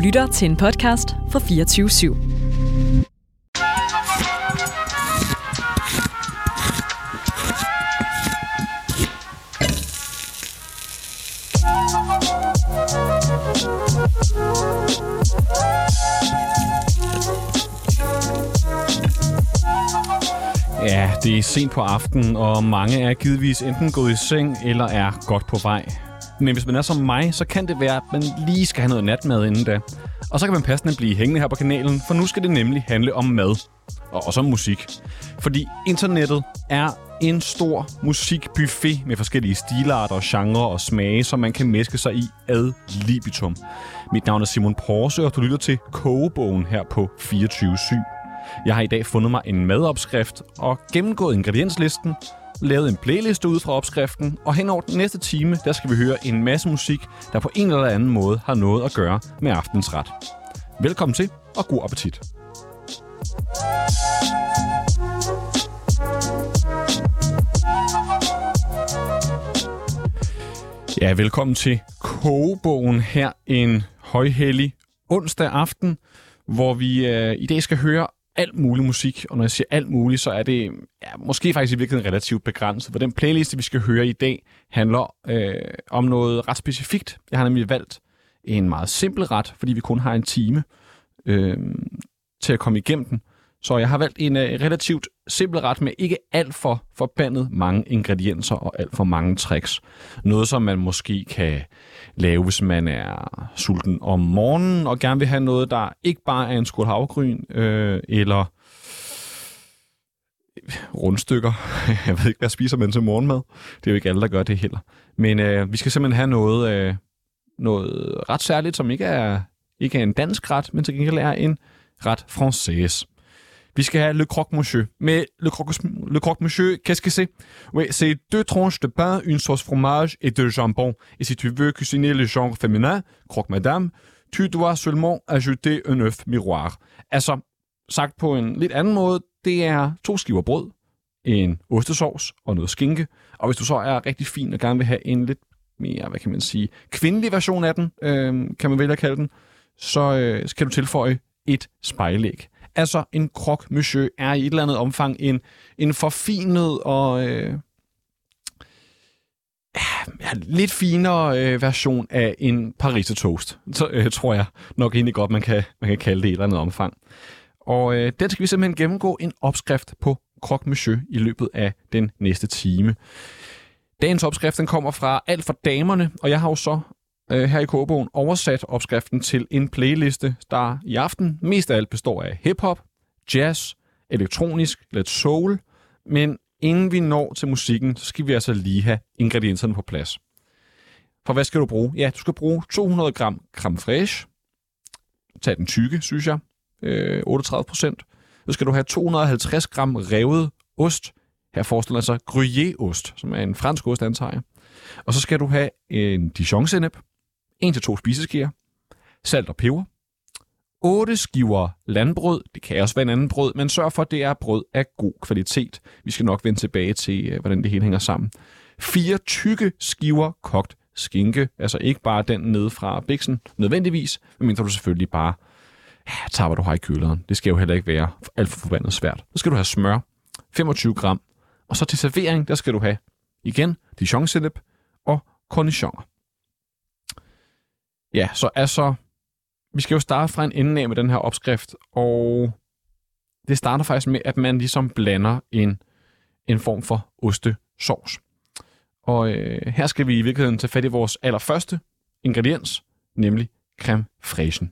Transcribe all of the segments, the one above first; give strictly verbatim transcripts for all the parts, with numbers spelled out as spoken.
lytter til en podcast fra fireogtyve syv. Ja, det er sent på aftenen, og mange er givetvis enten gået i seng eller er godt på vej. Men hvis man er som mig, så kan det være, at man lige skal have noget natmad inden da. Og så kan man passende blive hængende her på kanalen, for nu skal det nemlig handle om mad. Og også om musik. Fordi internettet er en stor musikbuffet med forskellige stilarter, genrer og smage, som man kan mæske sig i ad libitum. Mit navn er Simon Porse, og du lytter til Kogebogen her på fireogtyve syv. Jeg har i dag fundet mig en madopskrift og gennemgået ingredienslisten, lavet en playliste ud fra opskriften, og hen over den næste time, der skal vi høre en masse musik, der på en eller anden måde har noget at gøre med aftens ret. Velkommen til, og god appetit. Ja, velkommen til Kogebogen her en højhellig onsdag aften, hvor vi øh, i dag skal høre alt mulig musik, og når jeg siger alt muligt, så er det ja, måske faktisk i virkeligheden relativt begrænset, for den playliste, vi skal høre i dag, handler øh, om noget ret specifikt. Jeg har nemlig valgt en meget simpel ret, fordi vi kun har en time øh, til at komme igennem den. Så jeg har valgt en øh, relativt simpel ret med ikke alt for forbandet mange ingredienser og alt for mange tricks. Noget, som man måske kan lave, hvis man er sulten om morgenen og gerne vil have noget, der ikke bare er en skål havregryn øh, eller rundstykker. Jeg ved ikke, hvad spiser man til morgenmad. Det er jo ikke alle, der gør det heller. Men øh, vi skal simpelthen have noget, øh, noget ret særligt, som ikke er, ikke er en dansk ret, men til gengæld er en ret française. Vi skal have le croque-monsieur. Mais le croque- le croque-monsieur, qu'est-ce que c'est? Oui, c'est deux tranches de pain, une sauce fromage et de jambon. Et si tu veux cuisiner le genre féminin, croque-madame, tu dois seulement ajouter un œuf miroir. Altså, sagt på en lidt anden måde, det er to skiver brød, en ostesauce og noget skinke. Og hvis du så er rigtig fin og gerne vil have en lidt mere, hvad kan man sige, kvindelig version af den, øh, kan man vælge at kalde den, så øh, skal du tilføje et spejlæg. Altså, en croque-monsieur er i et eller andet omfang en, en forfinet og øh, ja, lidt finere øh, version af en pariser toast. Så øh, tror jeg nok egentlig godt, man kan, man kan kalde det i et eller andet omfang. Og øh, den skal vi simpelthen gennemgå en opskrift på croque-monsieur i løbet af den næste time. Dagens opskrift den kommer fra Alt for damerne, og jeg har jo så øh, her i Kogebogen oversat opskriften til en playliste, der i aften mest af alt består af hip-hop, jazz, elektronisk, lidt soul, men inden vi når til musikken, så skal vi altså lige have ingredienserne på plads. For hvad skal du bruge? Ja, du skal bruge to hundrede gram creme fraiche. Tag den tykke, synes jeg. Øh, otteogtredive procent. Så skal du have to hundrede og halvtreds gram revet ost. Her forestiller jeg sig Gruyère-ost, som er en fransk ost, antager jeg. Og så skal du have en Dijon-sennep, en til to spiseskeer, salt og peber, otte skiver landbrød, det kan også være en anden brød, men sørg for, at det er brød af god kvalitet. Vi skal nok vende tilbage til, hvordan det hele hænger sammen. Fire tykke skiver kogt skinke, altså ikke bare den nede fra biksen, nødvendigvis, medmindre du selvfølgelig bare ja, tager, hvad du har i køleren. Det skal jo heller ikke være alt for forbandet svært. Så skal du have smør, femogtyve gram, og så til servering, der skal du have igen Dijon-sennep og cornichoner. Ja, så altså, vi skal jo starte fra en ende af med den her opskrift, og det starter faktisk med, at man ligesom blander en, en form for ostesauce. Og øh, her skal vi i virkeligheden tage fat i vores allerførste ingrediens, nemlig creme fraiche.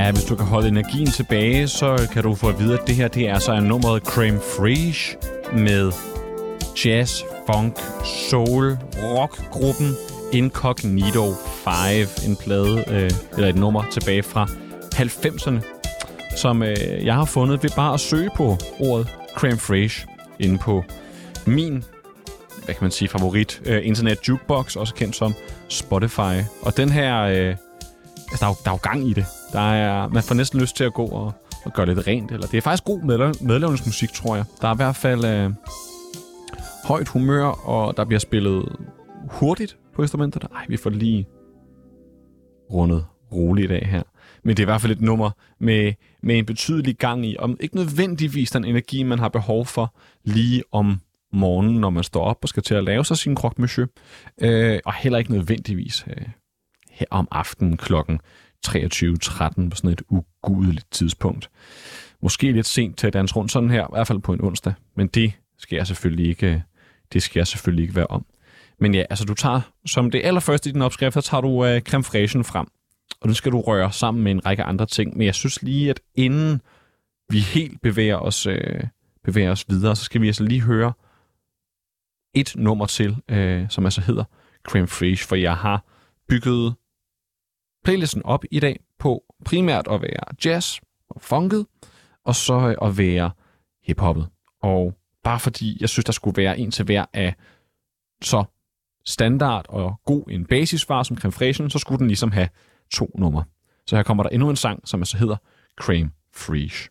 Ja, hvis du kan holde energien tilbage, så kan du få at vide, at det her det er så en nummeret Crème Fraîche med jazz, funk, soul, rockgruppen Incognito fem, en plade øh, eller et nummer tilbage fra halvfemserne, som øh, jeg har fundet ved bare at søge på ordet Crème Fraîche inde på min, hvad kan man sige, favorit øh, internet jukebox, også kendt som Spotify. Og den her, øh, altså der er, jo, der er jo gang i det. Der er, man får næsten lyst til at gå og, og gøre lidt rent. Eller det er faktisk god medlav- medlavningsmusik, tror jeg. Der er i hvert fald øh, højt humør, og der bliver spillet hurtigt på instrumenterne. Ej, vi får lige rundet roligt af her. Men det er i hvert fald et nummer med, med en betydelig gang i, om ikke nødvendigvis den energi, man har behov for lige om morgenen, når man står op og skal til at lave sig sin croque monsieur. Øh, og heller ikke nødvendigvis øh, her om aftenen klokken treogtyve tretten på sådan et ugudeligt tidspunkt. Måske lidt sent til at danse rundt sådan her, i hvert fald på en onsdag. Men det skal jeg selvfølgelig ikke, det skal jeg selvfølgelig ikke være om. Men ja, altså du tager, som det allerførste i din opskrift, så tager du øh, crème fraîchen frem. Og den skal du røre sammen med en række andre ting. Men jeg synes lige, at inden vi helt bevæger os, øh, bevæger os videre, så skal vi altså lige høre et nummer til, øh, som altså hedder Crème Fraîche. For jeg har bygget playlisten op i dag på primært at være jazz og funket, og så at være hiphoppet. Og bare fordi jeg synes, der skulle være en til hver af så standard og god en basisvar som Crème Fraîchen, så skulle den ligesom have to numre. Så her kommer der endnu en sang, som altså hedder Crème Fraîche.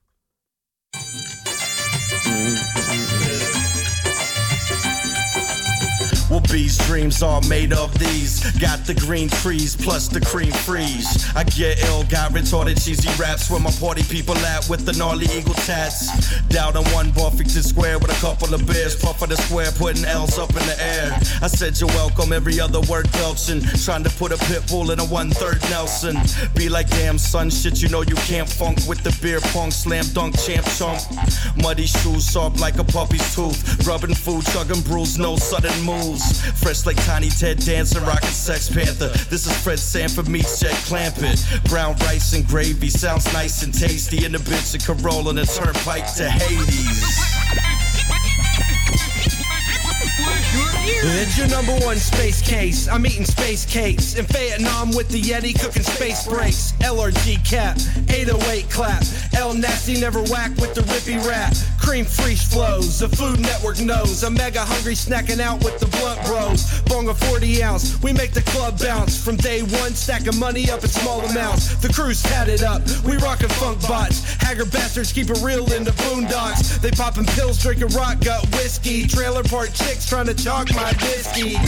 Well, B's dreams are made of these. Got the green trees plus the cream freeze. I get ill, got retarded cheesy raps where my party people at with the gnarly eagle tats. Down on one Buffington Square with a couple of beers, puffing the square, putting L's up in the air. I said you're welcome, every other word belching. Trying to put a pit bull in a one-third Nelson. Be like, damn son, shit, you know you can't funk with the beer pong, slam dunk champ chump. Muddy shoes, soft like a puppy's tooth. Rubbing food, chugging brews, no sudden moves. Fresh like Tiny Ted Dancer, rockin' Sex Panther. This is Fred Sanford meets Jack Clampett. Brown rice and gravy sounds nice and tasty. In the bitch of Corolla and a turnpike to Hades. It's your number one space case. I'm eating space cakes in Vietnam with the Yeti cooking space breaks. L R G cap, eight oh eight clap. El Nasty never whack with the rippy rap. Cream Fraîche flows, the Food Network knows. I'm mega hungry snacking out with the blunt bros. Bong a forty ounce, we make the club bounce. From day one, stacking money up in small amounts. The crew's tatted up, we rockin' funk bots. Haggard bastards keep it real in the boondocks. They poppin' pills, drinking rock gut whiskey. Trailer park chicks trying to chalk my whiskey.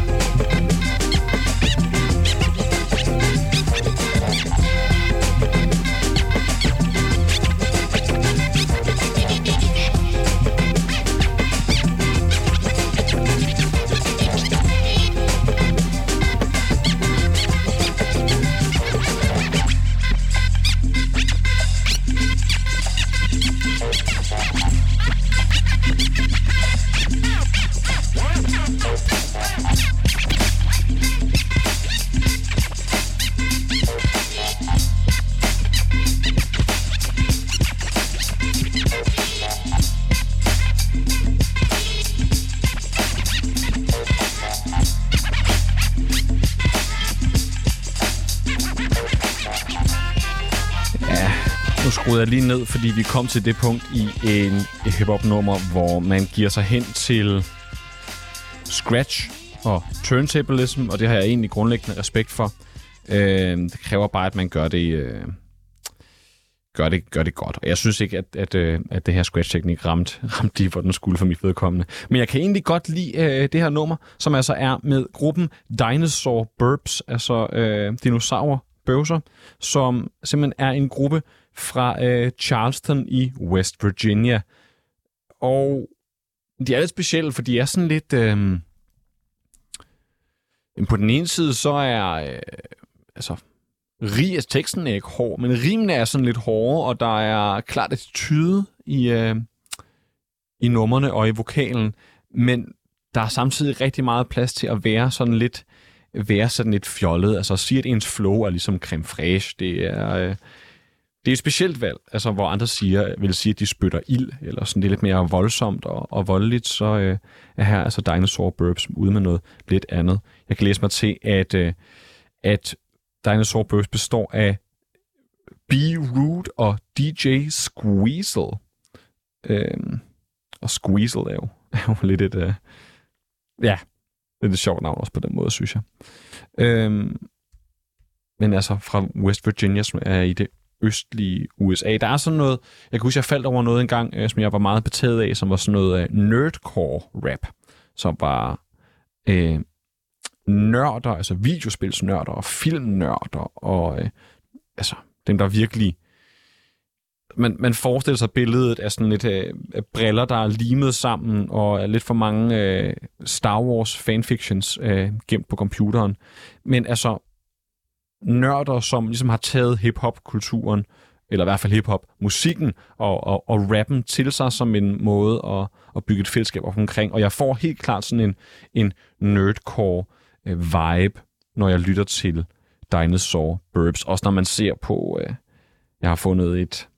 skruede jeg lige ned, fordi vi kom til det punkt i en hip-hop-nummer, hvor man giver sig hen til scratch og turntablism, og det har jeg egentlig grundlæggende respekt for. Øh, det kræver bare, at man gør det, øh, gør det, gør det godt. Og jeg synes ikke, at, at, øh, at det her scratch-teknik ramte, ramte de, hvor den skulle for mit vedkommende. Men jeg kan egentlig godt lide øh, det her nummer, som altså er med gruppen Dinosaur Burbs, altså øh, dinosaur-bøvser, som simpelthen er en gruppe fra øh, Charleston i West Virginia. Og de er lidt specielle, for de er sådan lidt... Øh, på den ene side, så er... Øh, altså, rig, altså, teksten er ikke hård, men rimene er sådan lidt hårde, og der er klart attitude i, øh, i numrene og i vokalen, men der er samtidig rigtig meget plads til at være sådan lidt, være sådan lidt fjollet. Altså at sige, at ens flow er ligesom crème fraîche, det er... Øh, det er et specielt valg, altså hvor andre siger, vil sige, at de spytter ild, eller sådan det er lidt mere voldsomt og, og voldeligt, så øh, er her altså Dinosaur Burps ude med noget lidt andet. Jeg kan læse mig til, at, øh, at Dinosaur Burps består af B-Root og D J Squeezel. Øhm, og Squeezel er jo, er jo lidt et, øh, ja, lidt et sjovt navn også på den måde, synes jeg. Øhm, men altså fra West Virginia, som er i det østlige U S A. Der er sådan noget, jeg kan huske, jeg faldt over noget engang, øh, som jeg var meget betaget af, som var sådan noget øh, nerdcore rap, som var øh, nørder, altså videospilsnørder og filmnørder, og øh, altså dem, der virkelig man, man forestiller sig billedet af sådan lidt øh, briller, der er limet sammen, og er lidt for mange øh, Star Wars fanfictions øh, gemt på computeren. Men altså nørder, som ligesom har taget hip-hop-kulturen, eller i hvert fald hip-hop-musikken, og, og, og rappen til sig som en måde at, at bygge et fællesskab op omkring. Og jeg får helt klart sådan en, en nerdcore øh, vibe, når jeg lytter til Dinosaur Burps. Også når man ser på, øh, jeg har fundet et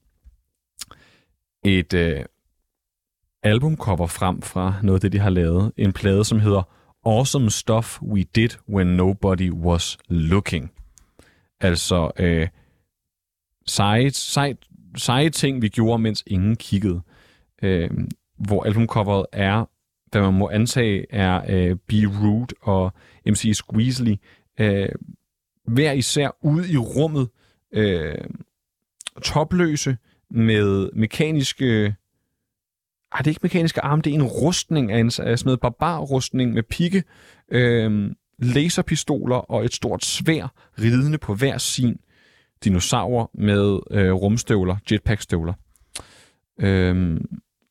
et øh, albumcover frem fra noget af det, de har lavet. En plade, som hedder Awesome Stuff We Did When Nobody Was Looking. Altså øh, seje, seje, seje ting, vi gjorde, mens ingen kiggede. Øh, hvor albumcoveret er, hvad man må antage, er øh, B-Root og M C Squeezely. Øh, hver især ude i rummet, øh, topløse, med mekaniske... Ej, det er ikke mekaniske arme, det er en rustning af, en, af sådan noget barbarrustning med pigge, øh, laserpistoler og et stort sværd ridende på hver sin dinosaur med øh, rumstøvler, jetpackstøvler. Øh,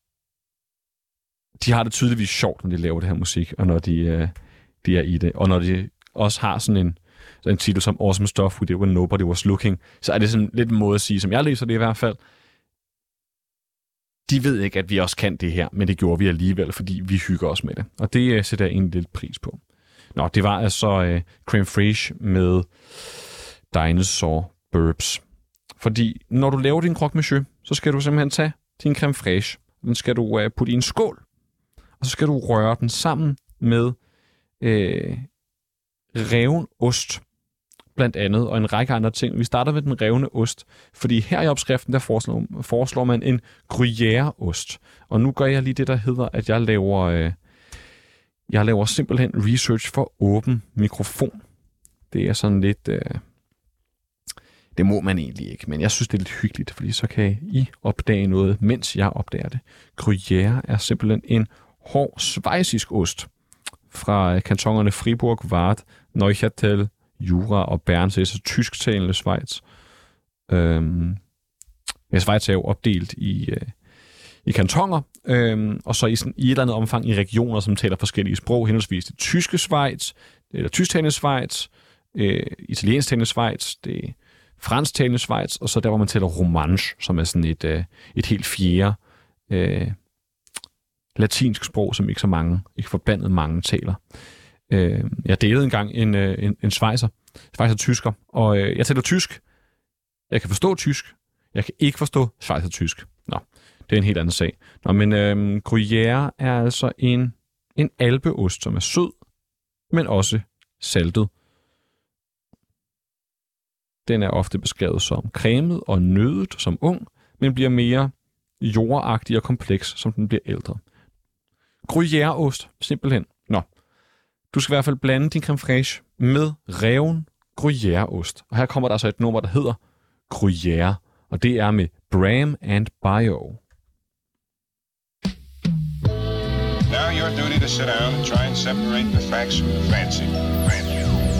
de har det tydeligvis sjovt, når de laver det her musik, og når de, øh, de er i det. Og når de også har sådan en, sådan en titel som Awesome Stuff We Did When Nobody Was Looking, så er det sådan lidt en måde at sige, som jeg læser det i hvert fald. De ved ikke, at vi også kan det her, men det gjorde vi alligevel, fordi vi hygger os med det. Og det uh, sætter jeg egentlig lidt pris på. Nå, det var altså uh, creme fraiche med Dinosaur Burps. Fordi når du laver din croque monsieur, så skal du simpelthen tage din creme fraiche. Den skal du uh, putte i en skål, og så skal du røre den sammen med uh, reven ost, blandt andet, og en række andre ting. Vi starter med den revne ost, fordi her i opskriften, der foreslår, foreslår man en gruyère-ost. Og nu gør jeg lige det, der hedder, at jeg laver, øh, jeg laver simpelthen research for åben mikrofon. Det er sådan lidt... Øh, det må man egentlig ikke, men jeg synes, det er lidt hyggeligt, fordi så kan I opdage noget, mens jeg opdager det. Gruyère er simpelthen en hård schweizisk ost fra kantonerne Fribourg, Waadt, Neuchâtel, Jura og Bern, så det er så tysktalende Schweiz. Øhm, ja, Schweiz er jo opdelt i, øh, i kantoner, øhm, og så i, sådan, i et eller andet omfang i regioner, som taler forskellige sprog, henholdsvis det tyske Schweiz, eller tysktalende Schweiz, øh, italiensktalende Schweiz, det fransktalende Schweiz, og så der, hvor man taler romanche, som er sådan et, øh, et helt fjerde øh, latinsk sprog, som ikke så mange, ikke forbandet mange taler. Øh, jeg delede engang en, en, en schweizer, schweizer-tysker, og øh, jeg taler tysk. Jeg kan forstå tysk. Jeg kan ikke forstå schweizer-tysk. Nå, det er en helt anden sag. Nå, men øh, Gruyère er altså en, en alpeost, som er sød, men også saltet. Den er ofte beskrevet som cremet og nødet som ung, men bliver mere jordagtig og kompleks, som den bliver ældre. Gruyère-ost, simpelthen. Nå. Du skal i hvert fald blande din creme fraiche med reven Gruyère-ost. Og her kommer der så et nummer, der hedder Gruyère, og det er med Bram and Bio. Now your duty to sit down and try and separate the facts from the fancy. fancy.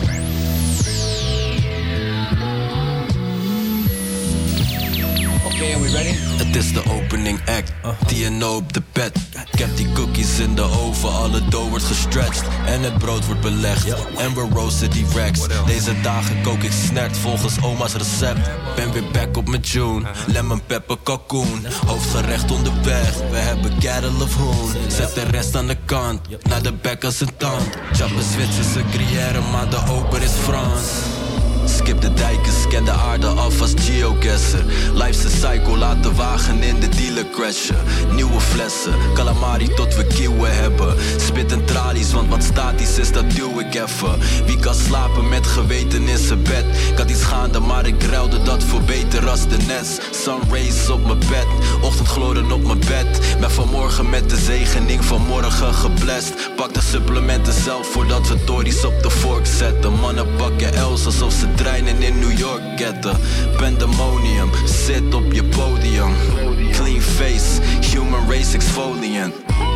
Okay, are we ready? Het is de opening act, die je nou op de bed. Ik heb die cookies in de oven, alle dough wordt gestretched. En het brood wordt belegd, en we roosten die racks. Deze dagen kook ik snert volgens oma's recept. Ben weer back op mijn June, lemon pepper kalkoen. Hoofdgerecht onderweg, we hebben cattle of hoon. Zet de rest aan de kant, naar de bek als een tand. Chappen Zwitserse gruyère, maar de oper is Frans. Skip de dijken, scan de aarde af als geoguesser. Life's a cycle, laat de wagen in de dealer crashen. Nieuwe flessen, calamari tot we kieuwen hebben. Spit en tralies, want wat statisch is, dat duw ik even. Wie kan slapen met geweten in zijn bed? Ik had iets gaande, maar ik ruilde dat voor beter als de nest. Sun rays op mijn bed, ochtendgloren op mijn bed. Ben vanmorgen met de zegening van morgen geblest. Pak de supplementen zelf voordat we tories op de vork zetten. Mannen pakken Els alsof ze treinen in New York getten. Pandemonium, zit op je podium. Clean face, human race exfoliant.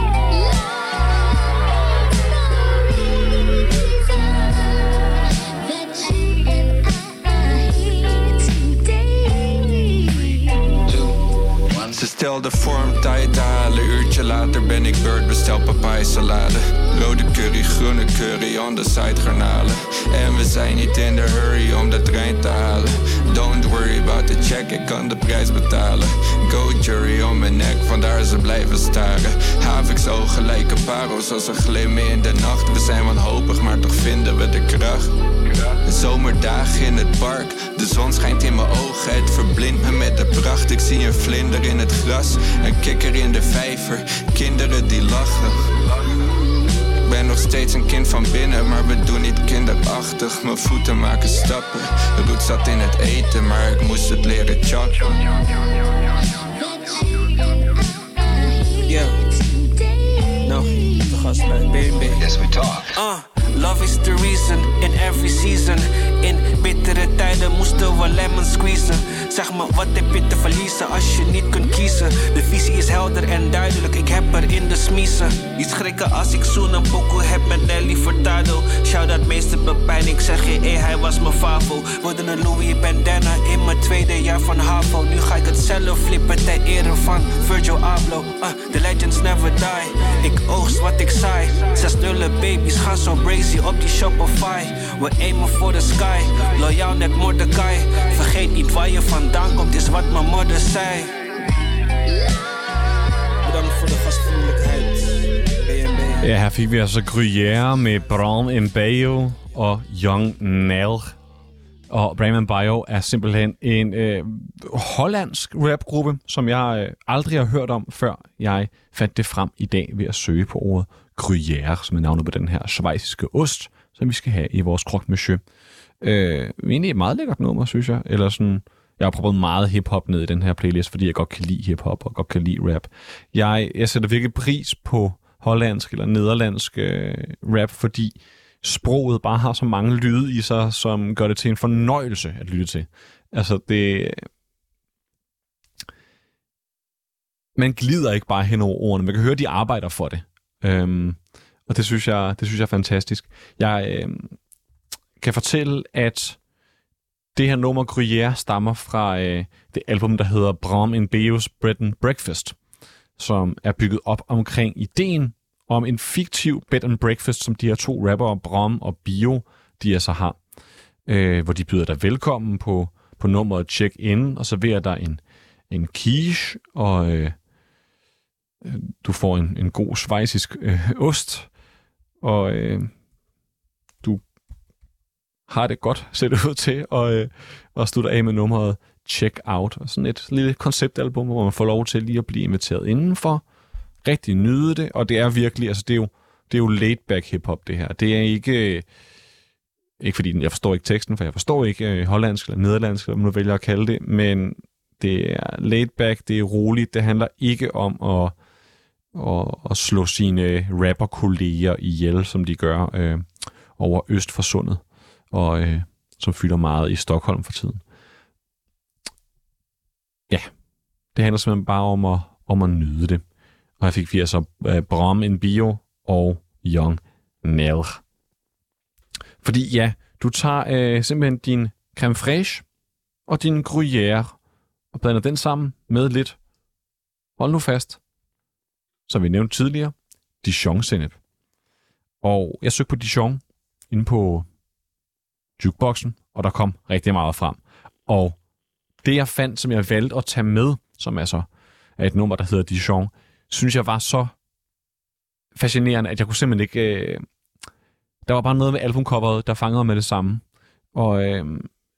Ze stelde voor om tijd te halen. Uurtje later ben ik beurt, bestel papai salade. Rode curry, groene curry, on the side garnalen. En we zijn niet in de hurry om de trein te halen. Don't worry about the check, ik kan de prijs betalen. Go jury om mijn nek, vandaar ze blijven staren. Haviks ogen lijken parels als ze glimmen in de nacht. We zijn wanhopig, maar toch vinden we de kracht. Zomerdagen in het park, de zon schijnt in mijn ogen. Het verblindt me met de pracht. Ik zie een vlinder in het gras, een kikker in de vijver. Kinderen die lachen. Ik ben nog steeds een kind van binnen, maar we doen niet kinderachtig. Mijn voeten maken stappen, de roet zat in het eten, maar ik moest het leren chappen. Yeah. No, de gast bij B en B. Yes, we talk. Uh. Love is the reason in every season. In bittere tijden moesten we lemon squeezen. Zeg me, wat heb je te verliezen als je niet kunt kiezen? De visie is helder en duidelijk, ik heb er in de smiezen. Niet schrikken als ik zoen een pokoe heb met Nelly Furtado. Shout-out meester Pepijn, ik zeg je, hey, hij was mijn favo. Worden een Louis bandana in mijn tweede jaar van HAVO. Nu ga ik het zelf flippen ter ere van Virgil Abloh. uh, The legends never die, ik oogst wat ik saai. Zes nullen babies gaan zo crazy op die Shopify. We aimen for the sky, loyaal net Mordecai. Vergeet niet waar je vandaan komt, is wat mijn moeder zei. Bedankt voor de gastvriendelijkheid, B en B. Ja, her fik vi altså Gruyère med Bram Mbeo og Young Nell. Og Bram Mbeo er simpelthen en øh, hollandsk rapgruppe, som jeg øh, aldrig har hørt om, før jeg fandt det frem i dag ved at søge på ordet Gruyère, som er navnet på den her schweiziske ost, som vi skal have i vores croque monsieur. Øh, egentlig et meget lækkert nummer, synes jeg. Eller sådan, jeg har prøvet meget hiphop ned i den her playlist, fordi jeg godt kan lide hiphop og godt kan lide rap. Jeg, jeg sætter virkelig pris på hollandsk eller nederlandsk øh, rap, fordi sproget bare har så mange lyde i sig, som gør det til en fornøjelse at lytte til. Altså, det... Man glider ikke bare hen over ordene. Man kan høre, de arbejder for det. Øhm, og det synes jeg, det synes jeg er fantastisk. Jeg øh, kan fortælle, at det her nummer Gruyère stammer fra øh, det album, der hedder Bram Mbeo's Bread and Breakfast, som er bygget op omkring ideen om en fiktiv bed and breakfast, som de her to rappere, Bram og Bio, de altså har. Øh, hvor de byder dig velkommen på, på nummeret Check In, og serverer dig en, en quiche, og øh, du får en, en god schweizisk øh, ost, og øh, du har det godt, ser det ud til, og, øh, og slutter af med nummeret Check Out. Og sådan et lille konceptalbum, hvor man får lov til lige at blive inviteret indenfor, rigtig nyde det, og det er virkelig, altså det er jo, det er jo laid-back hip-hop, det her. Det er ikke, ikke fordi jeg forstår ikke teksten, for jeg forstår ikke øh, hollandsk eller nederlandsk, eller man nu vælger at kalde det, men det er laid-back, det er roligt, det handler ikke om at, at, at slå sine rapper-kolleger ihjel, som de gør øh, over øst for sundet, og øh, som fylder meget i Stockholm for tiden. Ja, det handler simpelthen bare om at, om at nyde det. Og her fik vi altså uh, Bram Mbeo og Young Nell. Fordi ja, du tager uh, simpelthen din creme fraiche og din Gruyère og blander den sammen med lidt, hold nu fast, som vi nævnte tidligere, Dijon-sennep. Og jeg søgte på Dijon inde på jukeboxen, og der kom rigtig meget frem. Og det jeg fandt, som jeg valgte at tage med, som altså er et nummer, der hedder Dijon, synes jeg var så fascinerende, at jeg kunne simpelthen ikke... Øh... Der var bare noget med albumcoveret, der fangede med det samme. Og øh...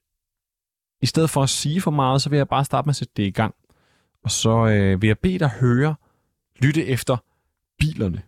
i stedet for at sige for meget, så vil jeg bare starte med at sætte det i gang. Og så øh, vil jeg bede dig høre, lytte efter bilerne.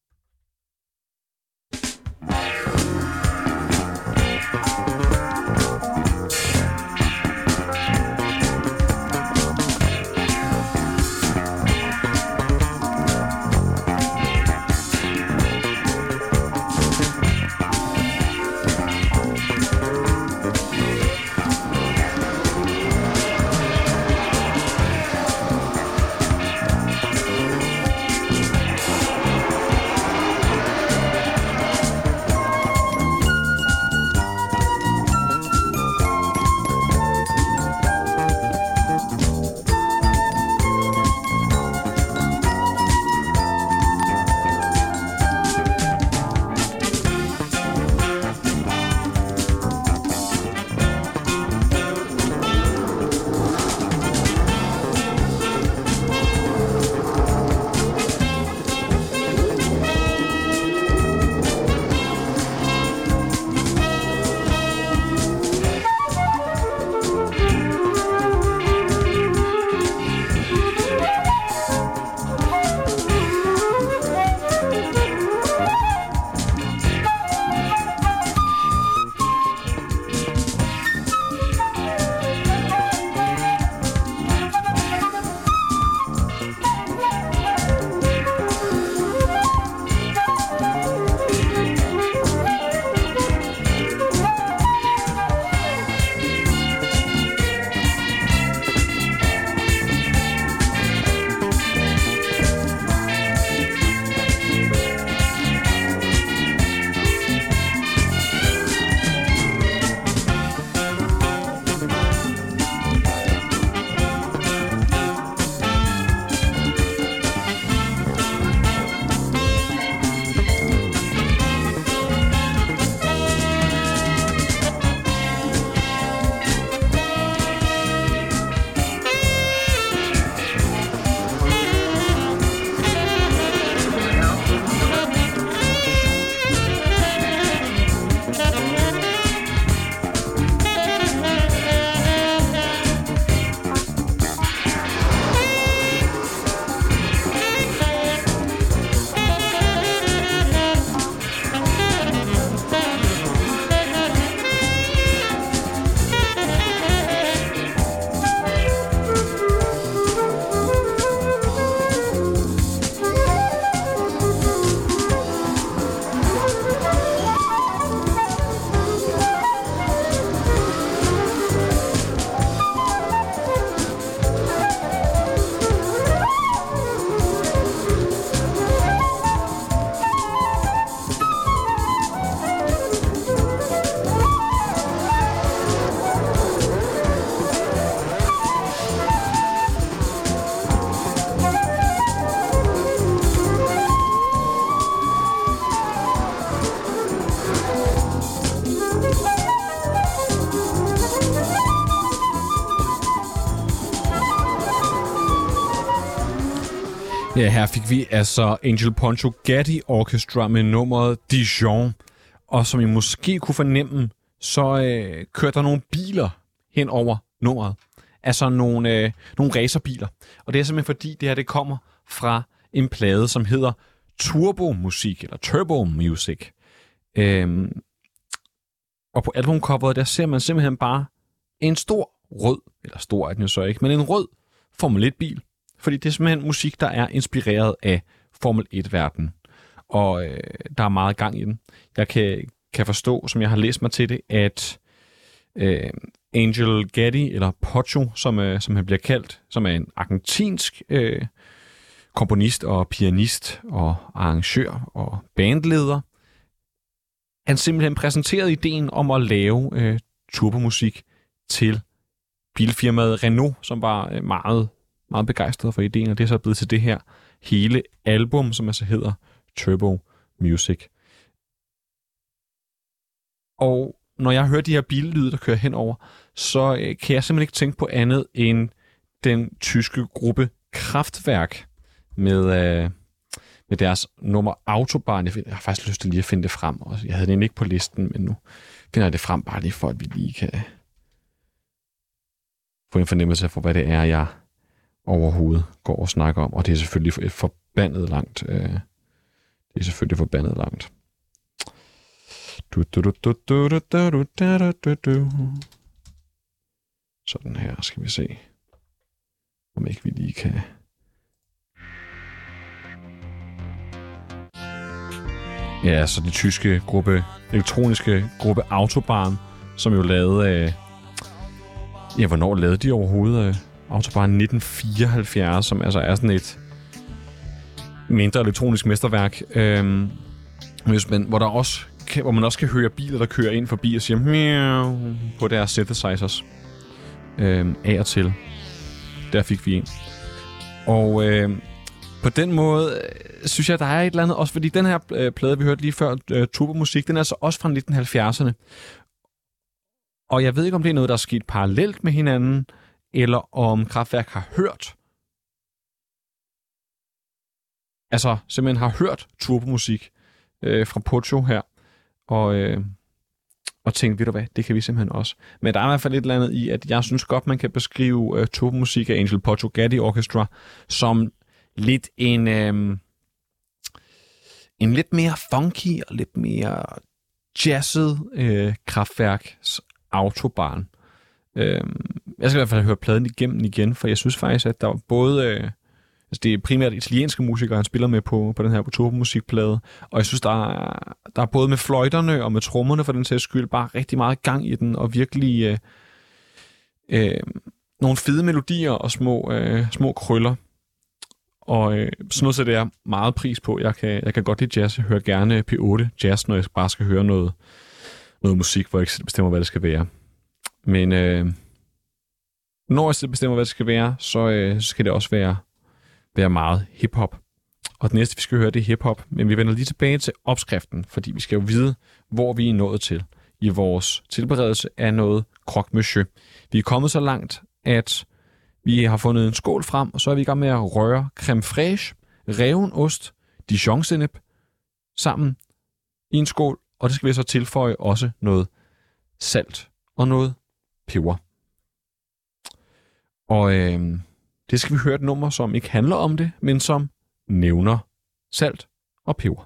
Ja, her fik vi altså Angel Poncho Gaddi Orchestra med nummeret Dijon. Og som I måske kunne fornemme, så øh, kørte der nogle biler hen over nummeret. Altså nogle, øh, nogle racerbiler. Og det er simpelthen fordi, det her det kommer fra en plade, som hedder Turbo Musik, eller Turbo Music. Øhm, og på albumcoveret, der ser man simpelthen bare en stor rød, eller stor er den jo så ikke, men en rød Formel et-bil. Fordi det er simpelthen musik, der er inspireret af Formel et-verdenen. Og øh, der er meget gang i den. Jeg kan, kan forstå, som jeg har læst mig til det, at øh, Angel Gaddi, eller Pocho, som, øh, som han bliver kaldt, som er en argentinsk øh, komponist og pianist og arrangør og bandleder, han simpelthen præsenterede ideen om at lave øh, turbomusik til bilfirmaet Renault, som var øh, meget, meget begejstret for ideen, og det er så blevet til det her hele album, som altså hedder Turbo Music. Og når jeg hører de her billyde, der kører henover, så øh, kan jeg simpelthen ikke tænke på andet end den tyske gruppe Kraftwerk med, øh, med deres nummer Autobahn. Jeg, find, jeg har faktisk lyst til lige at finde det frem. Og jeg havde det ikke på listen, men nu finder jeg det frem, bare lige for, at vi lige kan, få en fornemmelse for, hvad det er, jeg overhovedet går og snakker om. Og det er selvfølgelig et forbandet langt. Øh, det er selvfølgelig forbandet langt. Du, du, du, du, du, du, du, du, du, du. Sådan her skal vi se, om ikke vi lige kan... Ja, så de tyske gruppe, elektroniske gruppe Autobahn, som jo lavede... Øh, ja, hvornår lavede de overhovedet øh, Autobahn nitten fireoghalvfjerds, som altså er sådan et mindre elektronisk mesterværk, øh, hvis man, hvor, der også kan, hvor man også kan høre biler, der kører ind forbi og siger miau på deres synthesizers. Øh, af og til. Der fik vi en. Og øh, på den måde øh, synes jeg, der er et eller andet også, fordi den her øh, plade, vi hørte lige før, øh, turbomusik, den er altså også fra nitten halvfjerdserne. Og jeg ved ikke, om det er noget, der er sket parallelt med hinanden, eller om Kraftwerk har hørt, altså simpelthen har hørt turbomusik øh, fra Pocho her, og, øh, og tænkt, ved du hvad, det kan vi simpelthen også. Men der er i hvert fald et eller andet i, at jeg synes godt, man kan beskrive øh, turbomusik af Angel Portugatti Orchestra som lidt en, øh, en lidt mere funky og lidt mere jazzet øh, Kraftwerks Autobahn. Øh, jeg skal i hvert fald høre pladen igennem igen, for jeg synes faktisk, at der var både... Øh, altså det er primært italienske musikere, han spiller med på, på den her turbomusikplade, og jeg synes, der er, der er både med fløjterne og med trommerne for den sags skyld, bare rigtig meget gang i den, og virkelig øh, øh, nogle fede melodier og små, øh, små krøller. Og øh, sådan noget sætter jeg meget pris på. Jeg kan, jeg kan godt lide jazz. Jeg hører gerne P otte jazz, når jeg bare skal høre noget, noget musik, hvor jeg ikke selv bestemmer, hvad det skal være. Men øh, når jeg selv bestemmer, hvad det skal være, så øh, skal det også være, være meget hiphop. Og det næste, vi skal høre, det er hiphop. Men vi vender lige tilbage til opskriften, fordi vi skal jo vide, hvor vi er nået til i vores tilberedelse af noget croque monsieur. Vi er kommet så langt, at vi har fundet en skål frem, og så er vi i gang med at røre creme fraiche, reven ost, dijon-sennep sammen i en skål, og det skal vi så tilføje også noget salt og noget peber. Og øh, det skal vi høre et nummer, som ikke handler om det, men som nævner salt og peber.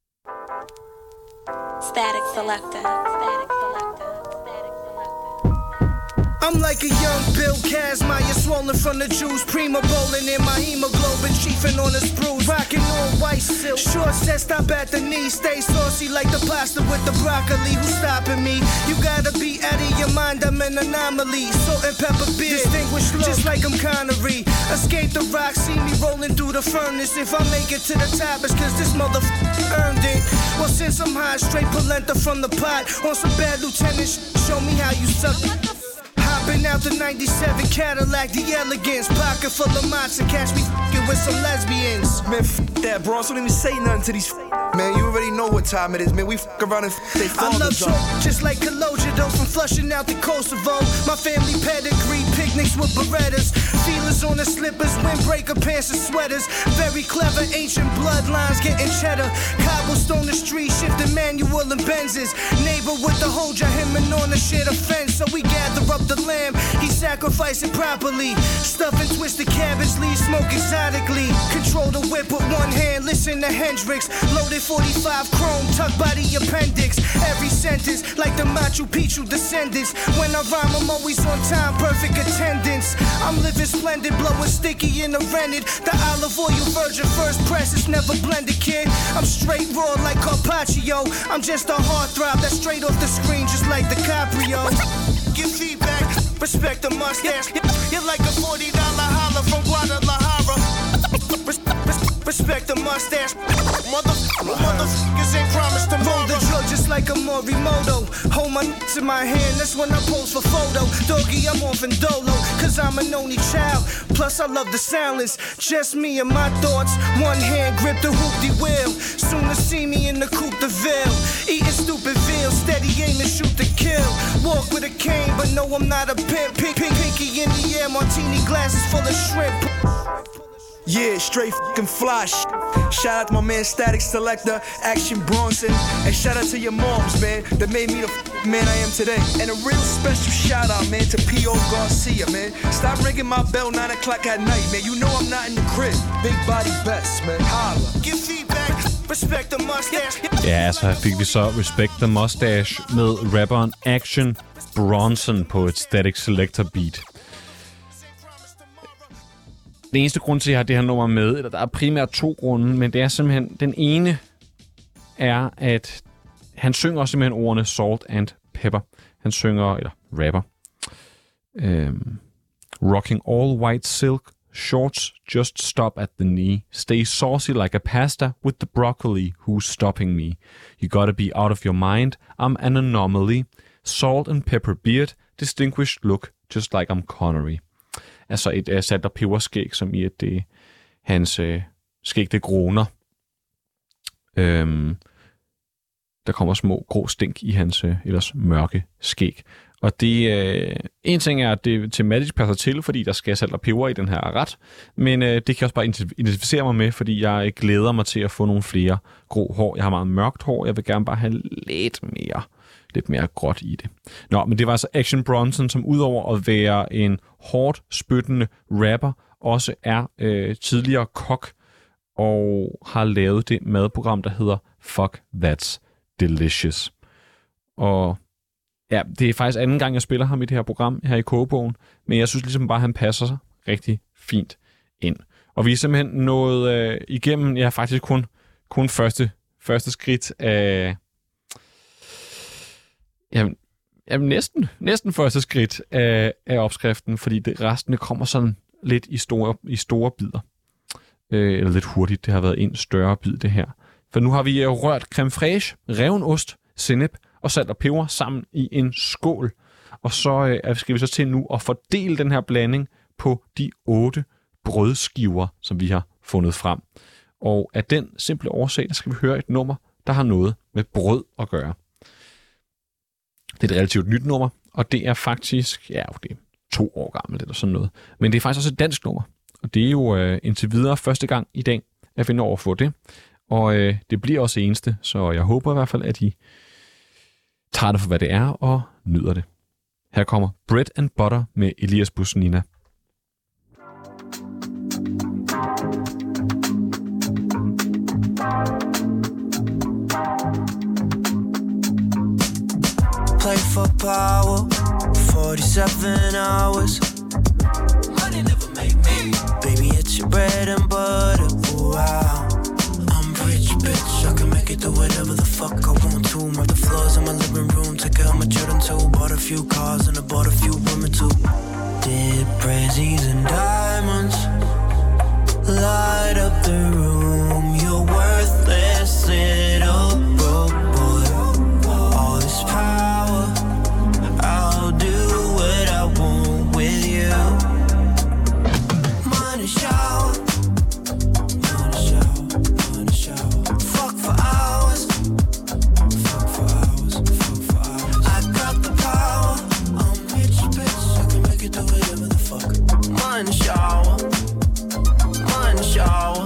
Static Selector. Static Selector. Static Selector. I'm like a young Bill Kazmaier, swollen from the juice, prima bowling in my hemoglobin, chiefing on the spruce, rocking on white silk, short set stop at the knee, stay saucy like the pasta with the broccoli. Who's stopping me? You gotta be out of your mind, I'm an anomaly. Salt and pepper beer, distinguished look, just like I'm Connery. Escape the rock, see me rolling through the furnace. If I make it to the top, it's cause this motherfucker earned it. Well, since I'm high, straight polenta from the pot, on some bad lieutenant sh- show me how you suck. Hopping out the ninety-seven Cadillac, the elegance, pocket full of matzo, catch me f***ing with some lesbians. Man, f*** that, bro. So don't even say nothing to these f***. Man, you already know what time it is, man. We f*** around and f*** they I love fathers talk, just like Kaloja, though, from flushing out the Kosovo. My family pedigree, picnics with Berettas, feelers on the slippers, windbreaker pants and sweaters. Very clever, ancient bloodlines getting cheddar. Cobblestone the street, shifting manual and Benzes. Neighbor with the Hoja, him and on the shit offense. So we gather up the lamb, he sacrificed it properly. Stuff and twisted cabbage leaves, smoke exotically. Control the whip with one hand, listen to Hendrix. Loaded forty-five chrome, tucked by the appendix. Every sentence, like the Machu Picchu descendants. When I rhyme, I'm always on time, perfect attendance. I'm living splendid, blowing sticky in the rented. The olive oil virgin first press, it's never blended, kid. I'm straight raw like Carpaccio. I'm just a heartthrob that's straight off the screen, just like DiCaprio. Give feedback, respect the mustache. You're like a forty dollar holler from Guadalajara. Respect the mustache. Motherfuckers motherfuckers ain't promised tomorrow. Roll the drug just like a Morimoto. Hold my nuts in my hand, that's when I pose for photo. Doggy, I'm off in dolo, cause I'm an only child. Plus I love the silence, just me and my thoughts. One hand grip the hoop-de-wheel. Soon to see me in the coupe de ville. Eating stupid veal, steady aim and shoot to kill. Walk with a cane, but no I'm not a pimp. Pink, pink, pinky in the air, martini glasses full of shrimp. Yeah, straight fucking fly shit. Shout out to my man Static Selector, Action Bronson. And shout out to your moms, man, that made me the f- man I am today. And a real special shout out, man, to P O Garcia, man. Stop ringing my bell nine o'clock at night, man. You know I'm not in the crib. Big body best, man. Holla. Give feedback. Respect the mustache. Ja, så fik vi så Respect the Mustache med rapperen Action Bronson på et Static Selector beat. Den eneste grund til, at jeg har det her nummer med, eller der er primært to grunde, men det er simpelthen, den ene er, at han synger også simpelthen ordene salt and pepper. Han synger, eller rapper, øhm, rocking all white silk, shorts just stop at the knee, stay saucy like a pasta with the broccoli, who's stopping me? You gotta be out of your mind, I'm an anomaly, salt and pepper beard, distinguished look, just like I'm Connery. Altså et uh, salt- og peberskæg, som i at det hans uh, skæg, det groner. Øhm, der kommer små grå stink i hans uh, ellers mørke skæg. Og det, uh, en ting er, at det tematisk passer til, fordi der skal salt og peber i den her ret, men uh, det kan jeg også bare identificere mig med, fordi jeg glæder mig til at få nogle flere grå hår. Jeg har meget mørkt hår, jeg vil gerne bare have lidt mere lidt mere gråt i det. Nå, men det var altså Action Bronson, som udover at være en hårdt spyttende rapper, også er øh, tidligere kok og har lavet det madprogram, der hedder Fuck That's Delicious. Og ja, det er faktisk anden gang, jeg spiller ham i det her program her i Kogebogen, men jeg synes ligesom bare, at han passer sig rigtig fint ind. Og vi er simpelthen nået øh, igennem, ja faktisk kun, kun første, første skridt af Jamen, jamen næsten, næsten første skridt af, af opskriften, fordi det, resten kommer sådan lidt i store, i store bidder. Øh, eller lidt hurtigt, det har været en større bid det her. For nu har vi rørt creme fraiche, reven ost, sennep og salt og peber sammen i en skål. Og så øh, skal vi så til nu at fordele den her blanding på de otte brødskiver, som vi har fundet frem. Og af den simple årsag, der skal vi høre et nummer, der har noget med brød at gøre. Det er et relativt nyt nummer, og det er faktisk, ja, det er to år gammelt eller sådan noget. Men det er faktisk også et dansk nummer, og det er jo øh, indtil videre første gang i dag, at vi når at få det. Og øh, det bliver også eneste, så jeg håber i hvert fald, at I tager det for, hvad det er, og nyder det. Her kommer Bread and Butter med Elias Busnina. Play for power, forty-seven hours. Money never make me. Baby, it's your bread and butter. Ooh, wow. I'm rich, bitch. I can make it do whatever the fuck I want to. Mop the floors in my living room. Take care of my children too. Bought a few cars and I bought a few women too. Did Prezzies and diamonds light up the room? You're worthless little broke boy. All this power, I'll do what I want with you. Money shower, money shower, money shower. Fuck for hours, fuck for hours, fuck for hours. I got the power, I'm rich, bitch. I can make it do whatever the fuck. Money shower, money shower.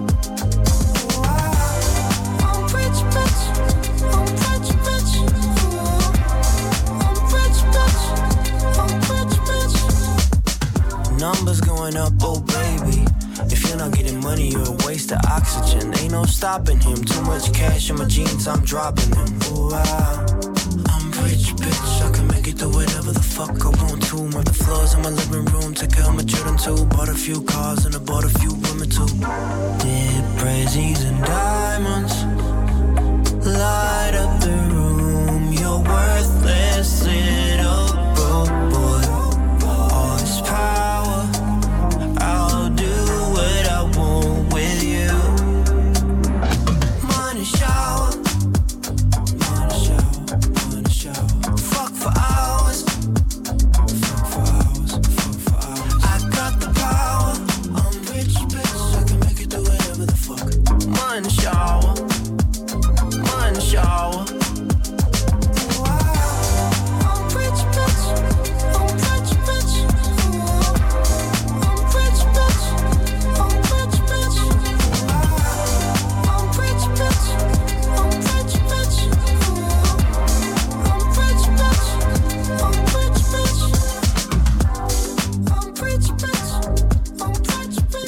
I'm rich, bitch. I'm rich, bitch. I'm rich, bitch. I'm rich, bitch. Numbers going up, oh baby. If you're not getting money, you're a waste of oxygen. Ain't no stopping him. Too much cash in my jeans, I'm dropping them. Ooh, wow. I'm rich, bitch. I can make it do whatever the fuck I want to. Mop the floors in my living room. Take care of my children too. Bought a few cars and I bought a few women too. Did Prezzies and diamonds light up the room? You're worthless little broke boy. All this power, I'll do what I want with you. Money shower, money shower, money shower. Fuck for hours, fuck for hours, fuck for hours. I got the power, I'm rich, bitch.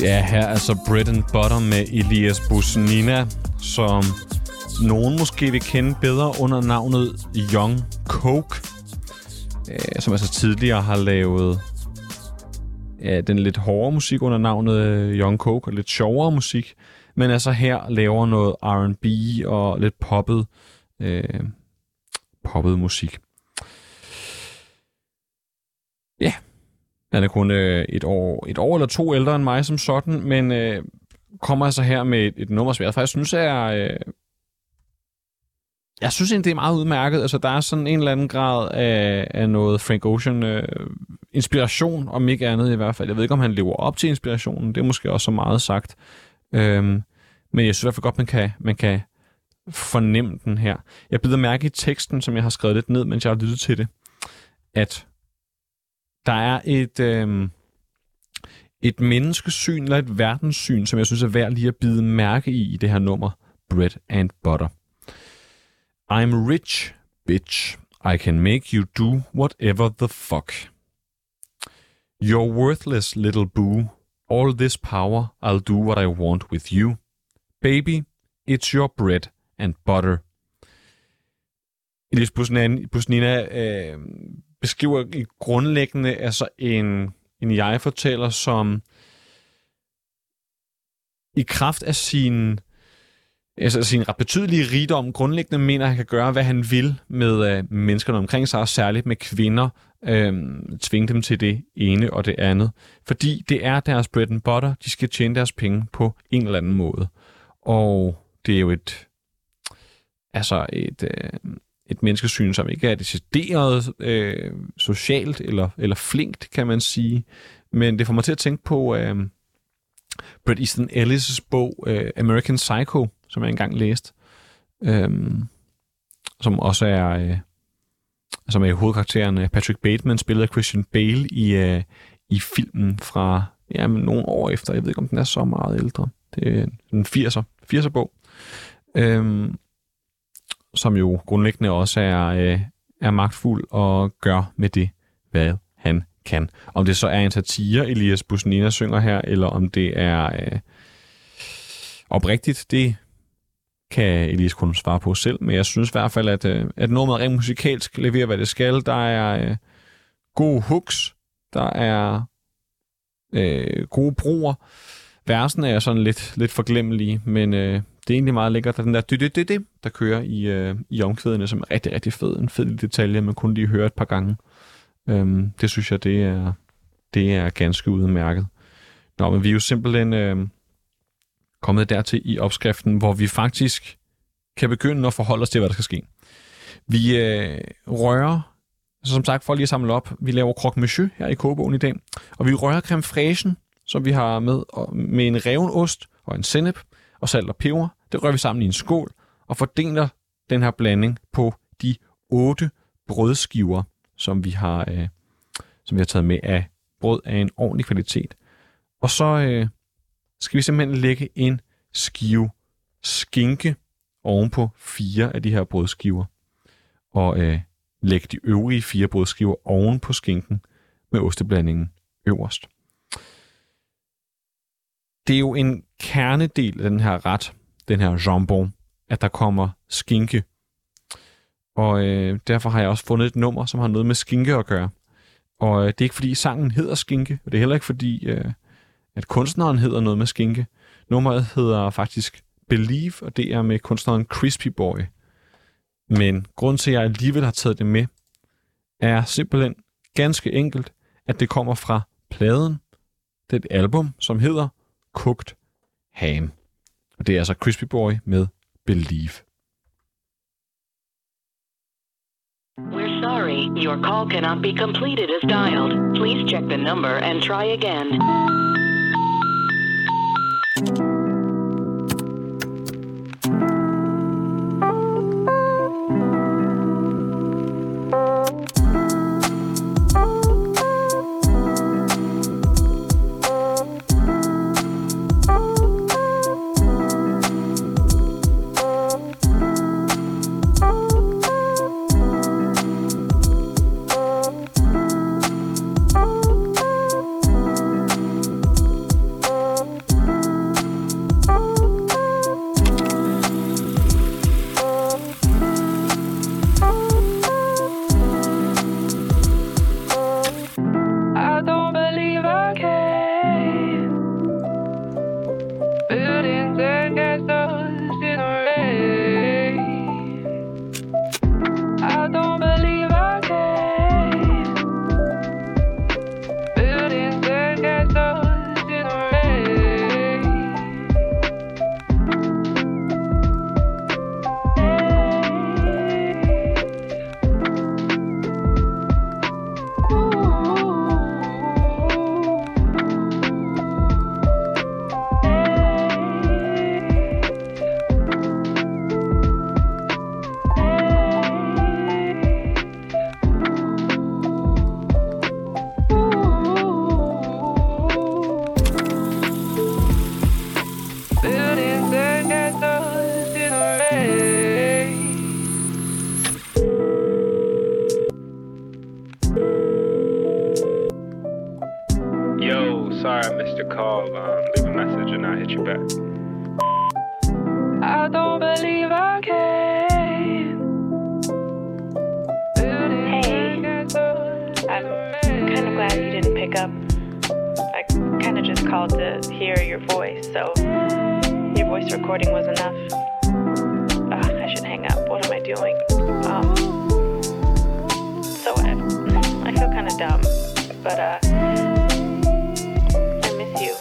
Ja, her er altså Bread and Butter med Elias Busnina, som nogen måske vil kende bedre under navnet Young Coke, øh, som altså tidligere har lavet ja, den lidt hårdere musik under navnet Young Coke, og lidt sjovere musik, men altså her laver noget R and B og lidt poppet, øh, poppet musik. Ja, han er kun øh, et, år, et år eller to ældre end mig som sådan, men øh, kommer altså her med et, et nummer, som jeg faktisk synes er... Øh, jeg synes egentlig, det er meget udmærket. Altså, der er sådan en eller anden grad af, af noget Frank Ocean øh, inspiration, om ikke andet i hvert fald. Jeg ved ikke, om han lever op til inspirationen. Det er måske også så meget sagt. Øhm, men jeg synes i hvert fald godt, man kan, man kan fornemme den her. Jeg bider mærke i teksten, som jeg har skrevet lidt ned, mens jeg har lyttet til det, at der er et, øh, et menneskesyn eller et verdenssyn, som jeg synes er værd lige at bide mærke i i det her nummer, Bread and Butter. I'm rich, bitch. I can make you do whatever the fuck. You're worthless, little boo. All this power, I'll do what I want with you. Baby, it's your bread and butter. Elias Busnina øh, beskriver grundlæggende altså en, en jeg-fortæller, som i kraft af sin, altså sin ret betydelige rigdom grundlæggende mener, at han kan gøre, hvad han vil med øh, menneskerne omkring sig, og særligt med kvinder, øh, tvinge dem til det ene og det andet. Fordi det er deres bread and butter, de skal tjene deres penge på en eller anden måde. Og det er jo et, altså et... Øh, et menneskesyn, som ikke er decideret øh, socialt eller, eller flinkt, kan man sige. Men det får mig til at tænke på øh, Bret Easton Ellis' bog øh, American Psycho, som jeg engang læste, øh, som også er, øh, som er hovedkarakteren Patrick Bateman, spillet af Christian Bale i, øh, i filmen fra ja, nogle år efter. Jeg ved ikke, om den er så meget ældre. Det er en firser, firser bog. Øh, som jo grundlæggende også er, øh, er magtfuld og gør med det, hvad han kan. Om det så er en satire, Elias Busnina synger her, eller om det er øh, oprigtigt, det kan Elias kun svare på selv, men jeg synes i hvert fald, at, øh, at nummeret rent musikalsk leverer, hvad det skal. Der er øh, gode hooks, der er øh, gode broer. Versene er sådan lidt, lidt forglemmelige, men øh, det er egentlig meget lækkert. Der er den der dy-dy-dy-dy, der kører i, øh, i omkvædene, som er rigtig, rigtig fed. En fed detalje, man kun lige høre et par gange. Øhm, det synes jeg, det er, det er ganske udmærket. Nå, men vi er jo simpelthen øh, kommet dertil i opskriften, hvor vi faktisk kan begynde at forholde os til, hvad der skal ske. Vi øh, rører, altså som sagt, for lige at samle op, vi laver croque monsieur her i kogebogen i dag, og vi rører creme fraichen, som vi har med, med en reven ost og en sennep og salt og peber. Det rører vi sammen i en skål og fordeler den her blanding på de otte brødskiver, som vi har, øh, som vi har taget med af brød af en ordentlig kvalitet. Og så øh, skal vi simpelthen lægge en skive skinke ovenpå fire af de her brødskiver. Og øh, lægge de øvrige fire brødskiver oven på skinken med osteblandingen øverst. Det er jo en kernedel af den her ret, den her jambon, at der kommer skinke. Og øh, derfor har jeg også fundet et nummer, som har noget med skinke at gøre. Og øh, det er ikke fordi sangen hedder skinke, og det er heller ikke fordi, øh, at kunstneren hedder noget med skinke. Nummeret hedder faktisk Believe, og det er med kunstneren Crispy Boy. Men grunden til, at jeg alligevel har taget det med, er simpelthen ganske enkelt, at det kommer fra pladen. Det er et album, som hedder Cooked Ham. Og det er altså Crispy Boy med Believe. We're sorry, your call cannot be completed as dialed. Please check the number and try again. I don't believe I can. Hey, I'm kind of glad you didn't pick up. I kind of just called to hear your voice, so your voice recording was enough. Ugh, I should hang up. What am I doing? Um, so I, I feel kind of dumb, but uh, I miss you.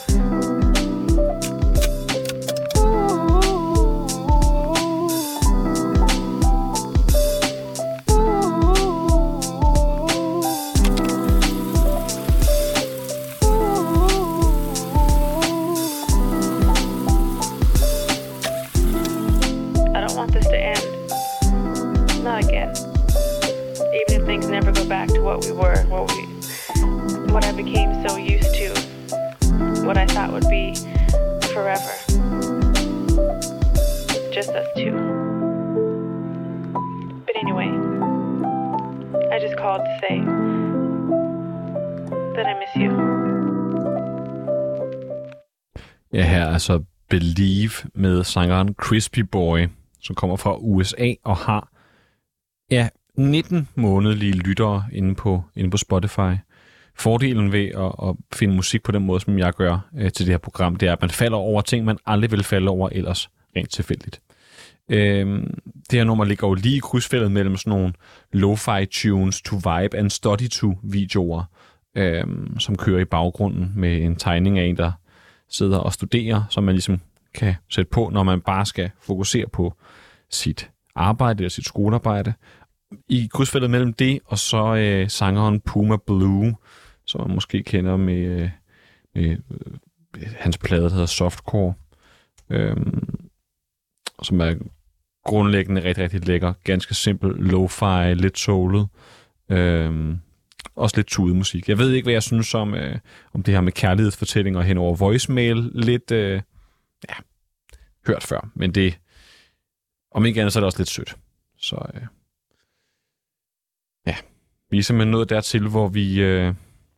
Never go back to what we were, what we, what I became so used to, what I thought would be forever. Just us two. But anyway, I just called to say that I miss you. Ja, her er altså Believe med sangeren Crispy Boy, som kommer fra U S A og har ja, nitten månedlige lyttere inde på, inde på Spotify. Fordelen ved at, at finde musik på den måde, som jeg gør øh, til det her program, det er, at man falder over ting, man aldrig ville falde over ellers rent tilfældigt. Øh, det her nummer ligger jo lige i krydsfeltet mellem sådan nogle lo-fi tunes to vibe and study to videoer, øh, som kører i baggrunden med en tegning af en, der sidder og studerer, som man ligesom kan sætte på, når man bare skal fokusere på sit arbejde eller sit skolearbejde. I krydsfeltet mellem det og så øh, sangeren Puma Blue, som man måske kender med, øh, med øh, hans plade, der hedder Softcore, øh, som er grundlæggende rigtig, rigtig lækker. Ganske simpel, lo-fi, lidt soulet. Øh, også lidt tudemusik. Jeg ved ikke, hvad jeg synes om, øh, om det her med kærlighedsfortællinger hen over voicemail. Lidt, øh, ja, hørt før. Men det, om ikke andet, så er det også lidt sødt. Så øh, ja, vi er simpelthen nået dertil, hvor vi øh,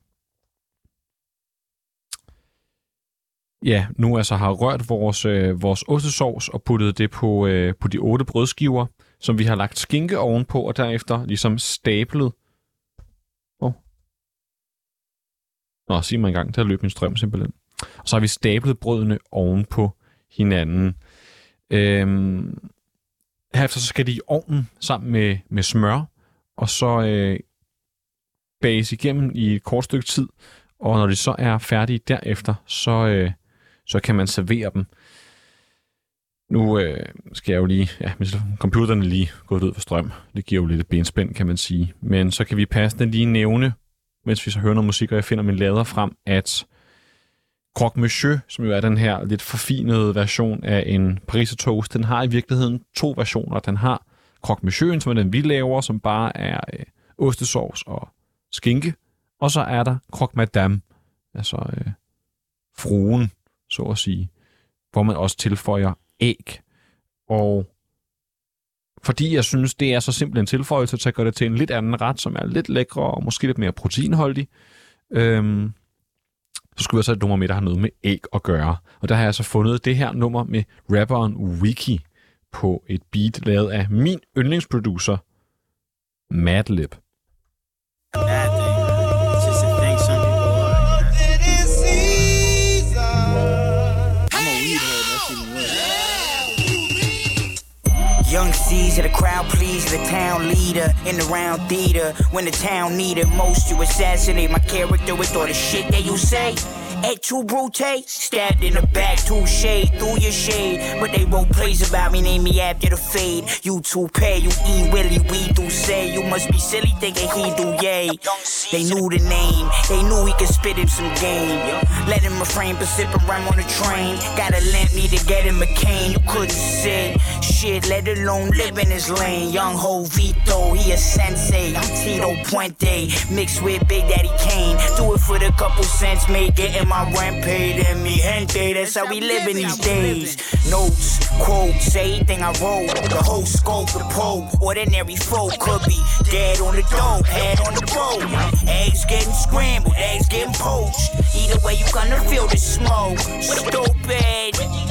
ja, nu altså har rørt vores, øh, vores ostesovs og puttet det på, øh, på de otte brødskiver, som vi har lagt skinke ovenpå, og derefter ligesom stablet. Åh. Nå, sig mig en gang, der løb min strøm simpelthen. Og så har vi stablet brødene ovenpå hinanden. Øhm, herefter så skal de i ovnen sammen med, med smør, og så øh, bages igennem i et kort stykke tid, og når de så er færdige derefter, så, øh, så kan man servere dem. Nu øh, skal jeg jo lige, ja, computeren er lige gået ud for strøm. Det giver jo lidt et benspænd, kan man sige. Men så kan vi passende lige nævne, mens vi så hører noget musik, og jeg finder min lader frem, at Croque Monsieur, som jo er den her lidt forfinede version af en pariser toast, den har i virkeligheden to versioner. Den har Croque Monsieur, som er den vi laver, som bare er øh, ostesauce og skinke. Og så er der Croque Madame, altså øh, fruen, så at sige, hvor man også tilføjer æg. Og fordi jeg synes, det er så simpelt en tilføjelse, så gør det til en lidt anden ret, som er lidt lækre og måske lidt mere proteinholdig. Øhm, så skulle jeg så et nummer med, der har noget med æg at gøre. Og der har jeg så fundet det her nummer med rapperen Wiki på et beat lavet af min yndlingsproducer, Madlib. Young Caesar, the crowd pleaser, the town leader in the round theater. When the town needed most, you assassinate my character with all the shit that you say. Et tu brute, stabbed in the back, too shade, through your shade. But they wrote plays about me, name me after the fade. You too pay, you eat Willie, we do say. You must be silly thinking he do yay. They knew the name, they knew he could spit him some game. Let him refrain, but sip and rhyme on the train. Gotta lamp me to get him a cane, you couldn't sit. Shit, let alone live in his lane. Young Ho Vito, he a sensei. I'm Tito Puente, mixed with Big Daddy Kane. Do it for the couple cents, make it in my rent paid. And me gente, that's how we live in these days. Notes, quotes, everything I wrote. The whole scope, the pole. Ordinary folk could be dead on the dope, head on the road. Eggs getting scrambled, eggs getting poached. Either way, you gonna feel the smoke. Stupid.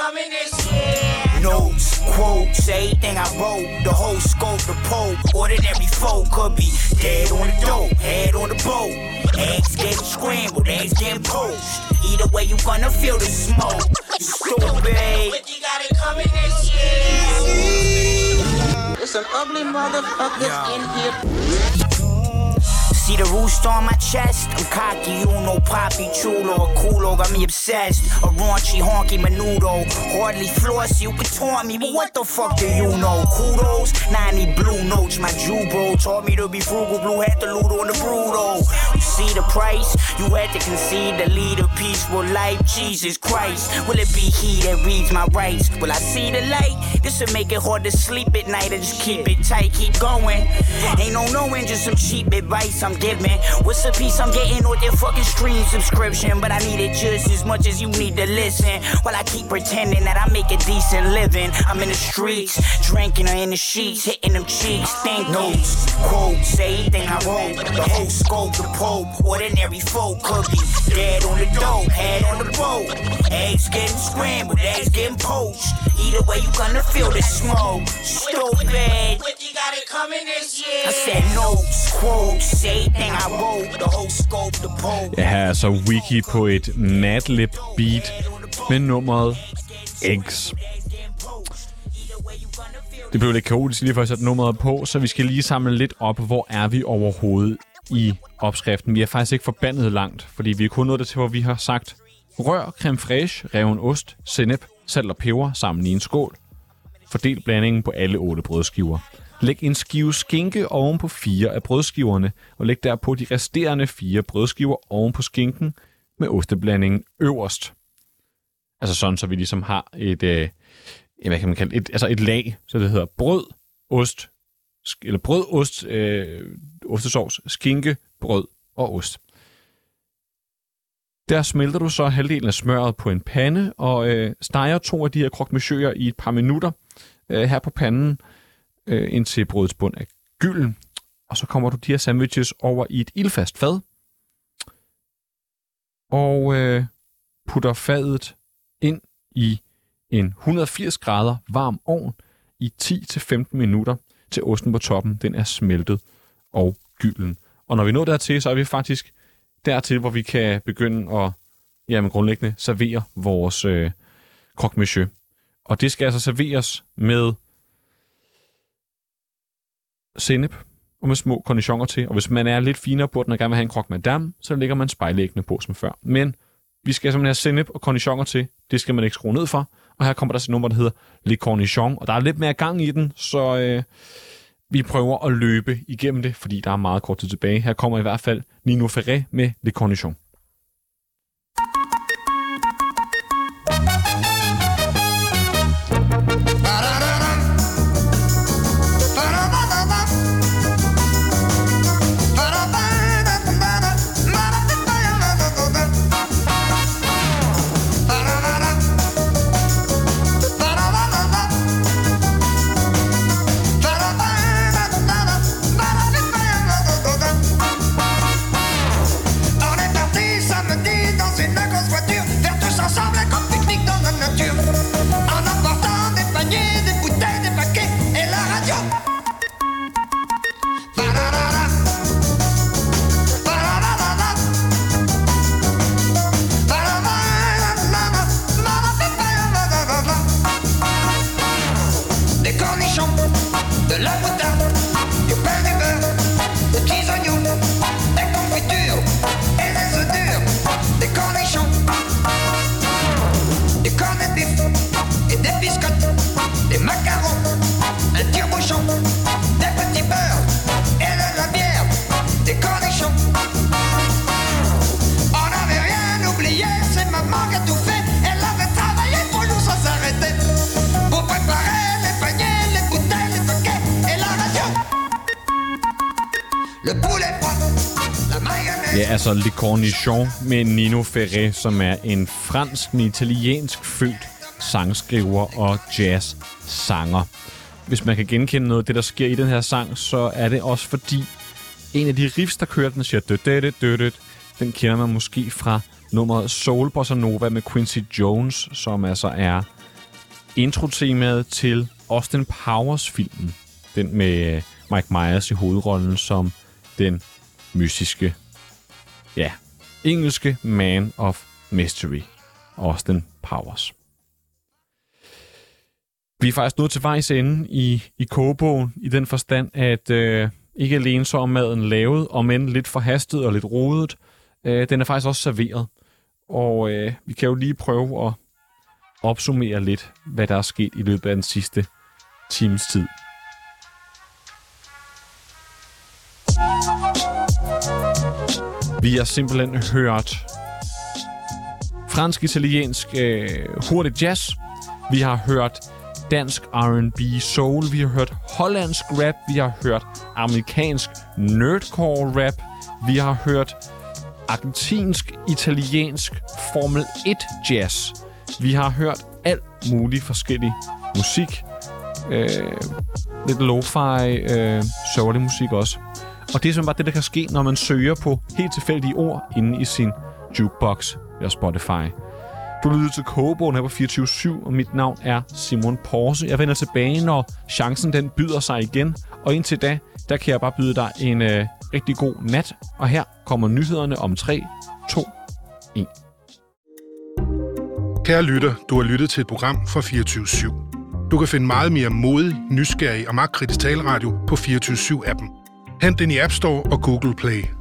coming this year. Notes, quotes, everything I wrote, the whole scope, the pole. Ordinary folk could be dead on the dope, head on the boat. Eggs getting scrambled, eggs getting poached. Either way, you gonna feel the smoke. You stupid. But you got it coming this year. There's some ugly motherfuckers yeah. in here. See the rooster on my chest? I'm cocky, you know, poppy, chulo, or culo, got me obsessed. A raunchy, honky, menudo. Hardly floss, you can taunt me, but what the fuck do you know? Kudos, ninety blue notes, my Jew bro taught me to be frugal, blue had to loot on the bruto. You see the price? You had to concede to lead a peaceful life, Jesus Christ. Will it be he that reads my rights? Will I see the light? This'll make it hard to sleep at night, I just keep it tight, keep going. Ain't no knowing, just some cheap advice I'm giving. What's the piece I'm getting with your fucking stream subscription? But I need it just as much as you need to listen. While I keep pretending that I make a decent living. I'm in the streets, drinking or in the sheets, hitting them cheeks. Think notes, quotes, everything I wrote. The whole scope, the pope. Ordinary folk could be dead on the dope, head on the boat. Eggs getting scrambled, eggs getting poached. Either way, you gonna feel the smoke. Stupid. But you got it coming this year. I said notes, quotes, everything I wrote. The whole scope, the pope. Ja, her er så Wiki på et Madlib beat med nummeret Eggs. Det blev lidt kaotisk lige for at sætte nummeret på, så vi skal lige samle lidt op, hvor er vi overhovedet i opskriften. Vi er faktisk ikke forbandet langt, fordi vi er kun nået det til, hvor vi har sagt rør, creme fraiche, reven ost, sennep, salt og peber sammen i en skål. Fordel blandingen på alle otte brødskiver. Læg en skive skinke oven på fire af brødskiverne, og læg derpå de resterende fire brødskiver oven på skinken med osteblandingen øverst. Altså sådan, så vi ligesom har et, øh, hvad kan man kalde et, altså et lag, så det hedder brød, ost, eller brød, ost, øh, ostesovs, skinke, brød og ost. Der smelter du så halvdelen af smøret på en pande, og øh, steger to af de her croque monsieurer i et par minutter øh, her på panden, øh, indtil brødets bund er gylden. Og så kommer du de her sandwiches over i et ildfast fad, og øh, putter fadet ind i en et hundrede og firs grader varm ovn i ti til femten minutter, til osten på toppen den er smeltet og gylden. Og når vi når dertil, så er vi faktisk dertil, hvor vi kan begynde at jamen, grundlæggende servere vores øh, croque monsieur. Og det skal altså serveres med sennep og med små cornichoner til. Og hvis man er lidt finere på den og gerne vil have en croque madame, så lægger man spejlæggene på som før. Men vi skal simpelthen have sennep og cornichoner til. Det skal man ikke skrue ned for. Og her kommer der så nummer, der hedder Le Cornichon. Og der er lidt mere gang i den, så øh, vi prøver at løbe igennem det, fordi der er meget kort tid tilbage. Her kommer i hvert fald Nino Ferrer med Le Cornichon. Ja, altså Le Cornichon med Nino Ferrer, som er en fransk, en italiensk født sangskriver og jazz-sanger. Hvis man kan genkende noget af det, der sker i den her sang, så er det også fordi en af de riffs, der kører, den siger død, død, død, død. Den kender man måske fra nummeret Soul Bossa Nova med Quincy Jones, som altså er introtemaet til Austin Powers-filmen. Den med Mike Myers i hovedrollen som den mystiske, ja, engelske Man of Mystery, Austin Powers. Vi er faktisk nået til vejs ende i, i kogebogen, i den forstand, at øh, ikke alene så er maden lavet, om end lidt forhastet og lidt rodet, øh, den er faktisk også serveret. Og øh, vi kan jo lige prøve at opsummere lidt, hvad der er sket i løbet af den sidste times tid. Vi har simpelthen hørt fransk-italiensk øh, hurtig jazz. Vi har hørt dansk R and B soul. Vi har hørt hollandsk rap. Vi har hørt amerikansk nerdcore rap. Vi har hørt argentinsk-italiensk Formel et jazz. Vi har hørt alt muligt forskellig musik. Øh, lidt lo-fi, øh, sørgelig musik også. Og det er simpelthen bare det, der kan ske, når man søger på helt tilfældige ord inde i sin jukebox eller Spotify. Du lytter til Kogebogen her på fireogtyve syv, og mit navn er Simon Porse. Jeg vender tilbage, når chancen den byder sig igen. Og indtil da, der kan jeg bare byde dig en øh, rigtig god nat. Og her kommer nyhederne om tre, to, et. Kære lytter, du har lyttet til et program fra fireogtyve syv. Du kan finde meget mere modig, nysgerrig og magtkritisk taleradio på fireogtyve syv appen. Hent den i App Store og Google Play.